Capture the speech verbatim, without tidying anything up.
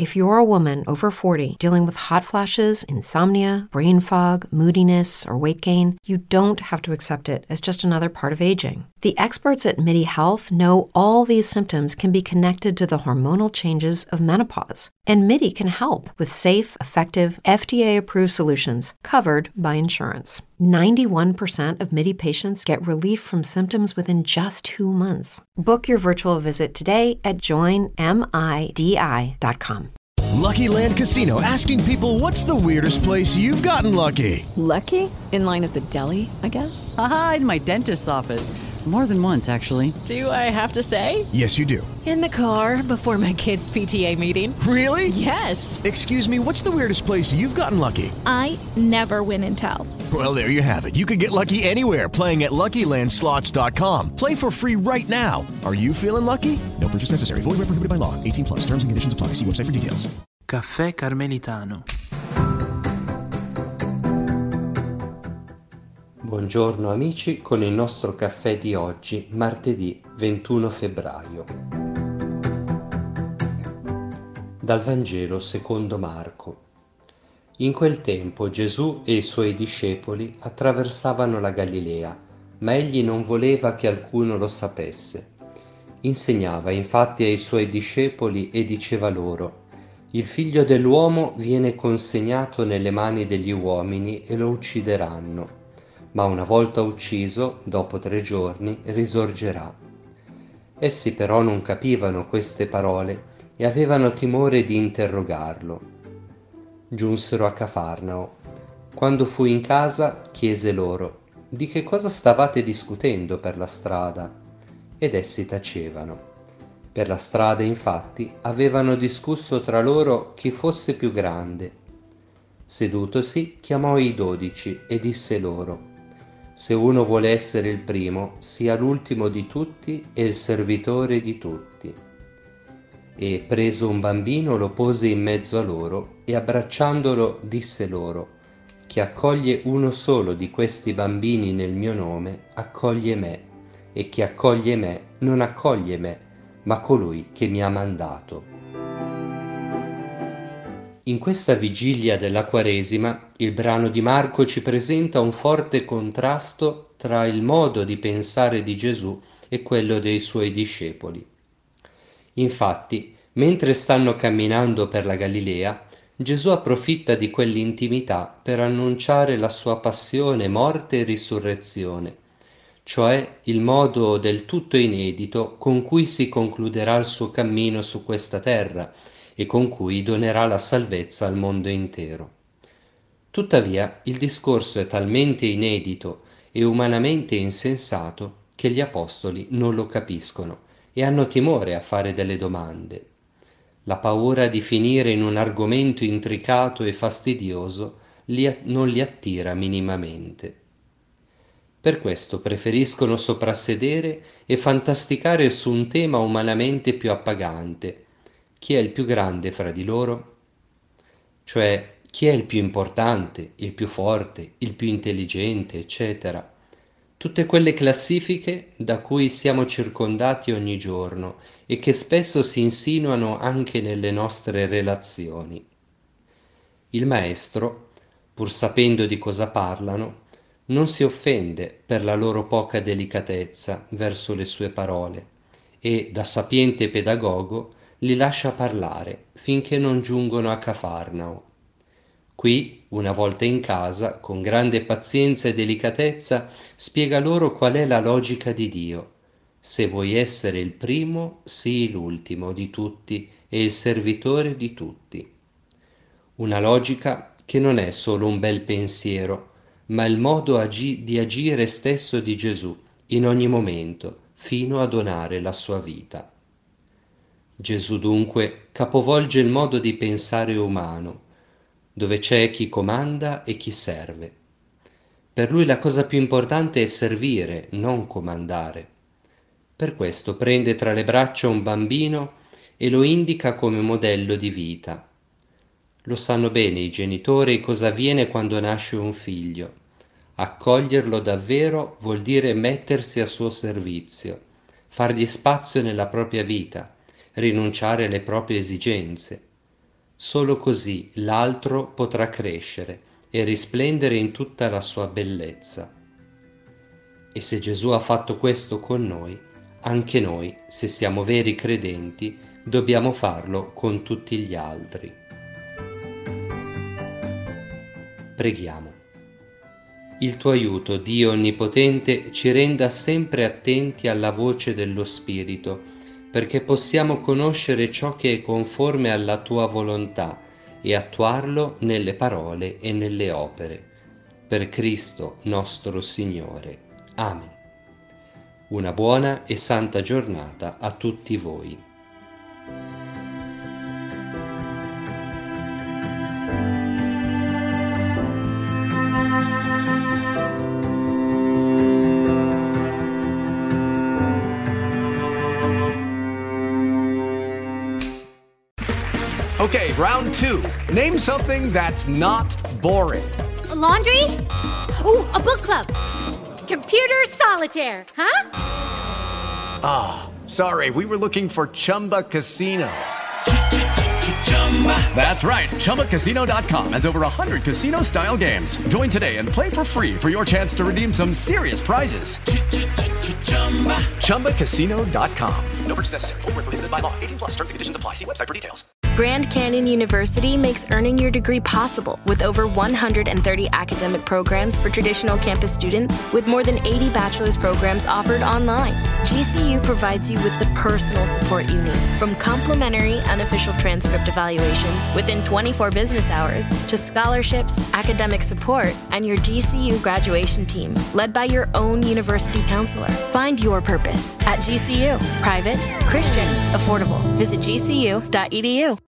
If you're a woman over forty dealing with hot flashes, insomnia, brain fog, moodiness, or weight gain, you don't have to accept it as just another part of aging. The experts at MIDI Health know all these symptoms can be connected to the hormonal changes of menopause. And MIDI can help with safe, effective, F D A-approved solutions covered by insurance. ninety-one percent of MIDI patients get relief from symptoms within just two months. Book your virtual visit today at join midi dot com. Lucky Land Casino, asking people, what's the weirdest place you've gotten lucky? Lucky? In line at the deli, I guess? Aha, in my dentist's office. More than once, actually. Do I have to say? Yes, you do. In the car before my kids' P T A meeting. Really? Yes. Excuse me, what's the weirdest place you've gotten lucky? I never win and tell. Well, there you have it. You can get lucky anywhere, playing at Lucky Land Slots dot com. Play for free right now. Are you feeling lucky? No purchase necessary. Void where prohibited by law. eighteen plus. Terms and conditions apply. See website for details. Caffè Carmelitano. Buongiorno amici, con il nostro caffè di oggi, martedì ventuno febbraio. Dal Vangelo secondo Marco. In quel tempo Gesù e i suoi discepoli attraversavano la Galilea, ma egli non voleva che alcuno lo sapesse. Insegnava infatti ai suoi discepoli e diceva loro: il figlio dell'uomo viene consegnato nelle mani degli uomini e lo uccideranno. Ma una volta ucciso, dopo tre giorni, risorgerà. Essi però non capivano queste parole e avevano timore di interrogarlo. Giunsero a Cafarnao. Quando fu in casa, chiese loro: di che cosa stavate discutendo per la strada? Ed essi tacevano. Per la strada, infatti, avevano discusso tra loro chi fosse più grande. Sedutosi, chiamò i dodici e disse loro: se uno vuole essere il primo, sia l'ultimo di tutti e il servitore di tutti. E preso un bambino lo pose in mezzo a loro e abbracciandolo disse loro: chi accoglie uno solo di questi bambini nel mio nome, accoglie me, e chi accoglie me non accoglie me, ma colui che mi ha mandato. In questa vigilia della Quaresima, il brano di Marco ci presenta un forte contrasto tra il modo di pensare di Gesù e quello dei suoi discepoli. Infatti, mentre stanno camminando per la Galilea, Gesù approfitta di quell'intimità per annunciare la sua passione, morte e risurrezione, cioè il modo del tutto inedito con cui si concluderà il suo cammino su questa terra e con cui donerà la salvezza al mondo intero. Tuttavia, il discorso è talmente inedito e umanamente insensato che gli apostoli non lo capiscono e hanno timore a fare delle domande. La paura di finire in un argomento intricato e fastidioso li, non li attira minimamente. Per questo preferiscono soprassedere e fantasticare su un tema umanamente più appagante. Chi è il più grande fra di loro? Cioè, chi è il più importante, il più forte, il più intelligente, eccetera. Tutte quelle classifiche da cui siamo circondati ogni giorno e che spesso si insinuano anche nelle nostre relazioni. Il maestro, pur sapendo di cosa parlano, non si offende per la loro poca delicatezza verso le sue parole e, da sapiente pedagogo, li lascia parlare finché non giungono a Cafarnao. Qui, una volta in casa, con grande pazienza e delicatezza, spiega loro qual è la logica di Dio. Se vuoi essere il primo, sii l'ultimo di tutti e il servitore di tutti. Una logica che non è solo un bel pensiero, ma il modo agi- di agire stesso di Gesù in ogni momento, fino a donare la sua vita. Gesù dunque capovolge il modo di pensare umano, dove c'è chi comanda e chi serve. Per lui la cosa più importante è servire, non comandare. Per questo prende tra le braccia un bambino e lo indica come modello di vita. Lo sanno bene i genitori cosa avviene quando nasce un figlio. Accoglierlo davvero vuol dire mettersi a suo servizio, fargli spazio nella propria vita, rinunciare alle proprie esigenze. Solo così l'altro potrà crescere e risplendere in tutta la sua bellezza. E se Gesù ha fatto questo con noi, anche noi, se siamo veri credenti, dobbiamo farlo con tutti gli altri. Preghiamo. Il tuo aiuto, Dio Onnipotente, ci renda sempre attenti alla voce dello Spirito, perché possiamo conoscere ciò che è conforme alla tua volontà e attuarlo nelle parole e nelle opere. Per Cristo nostro Signore. Amen. Una buona e santa giornata a tutti voi. Okay, round two. Name something that's not boring. A laundry? Ooh, a book club. Computer solitaire, huh? Ah, oh, sorry, we were looking for Chumba Casino. That's right, Chumba Casino dot com has over one hundred casino-style games. Join today and play for free for your chance to redeem some serious prizes. Chumba Casino dot com. No purchase necessary. Void where prohibited by law. eighteen plus terms and conditions apply. See website for details. Grand Canyon University makes earning your degree possible with over one hundred thirty academic programs for traditional campus students, with more than eighty bachelor's programs offered online. G C U provides you with the personal support you need, from complimentary unofficial transcript evaluations within twenty-four business hours to scholarships, academic support, and your G C U graduation team, led by your own university counselor. Find your purpose at G C U. Private, Christian, affordable. Visit G C U dot E D U.